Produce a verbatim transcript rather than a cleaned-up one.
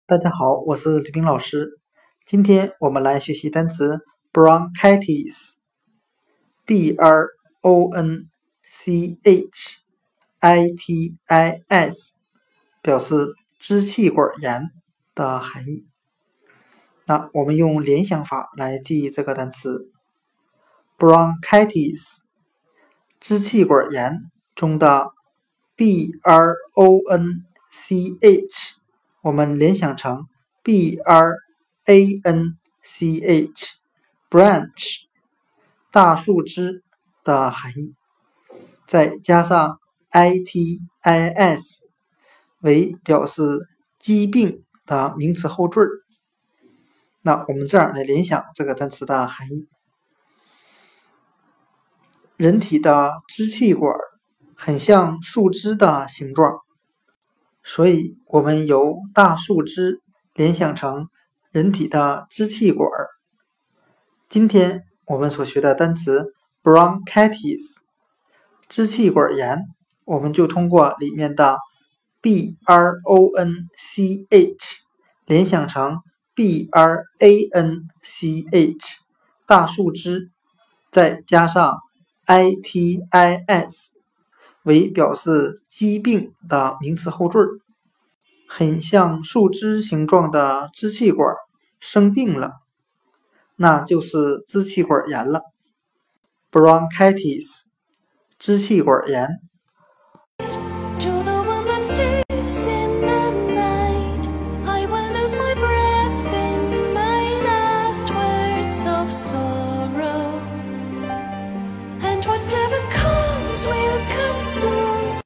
大家好，我是吕冰老师。今天我们来学习单词 bronchitis，b r o n c h i t i s， 表示支气管炎的含义。那我们用联想法来记忆这个单词 bronchitis， 支气管炎中的 b r o n c h。我们联想成 b r a n c h branch 大树枝的含义，再加上 i t i s 为表示疾病的名词后缀。那我们这样来联想这个单词的含义：人体的支气管很像树枝的形状，所以我们由大树枝联想成人体的支气管。今天我们所学的单词 bronchitis 支气管炎，我们就通过里面的 b r o n c h 联想成 b r a n c h 大树枝，再加上 i t i s 为表示疾病的名词后缀，很像树枝形状的支气管生病了，那就是支气管炎了。bronchitis 支气管炎。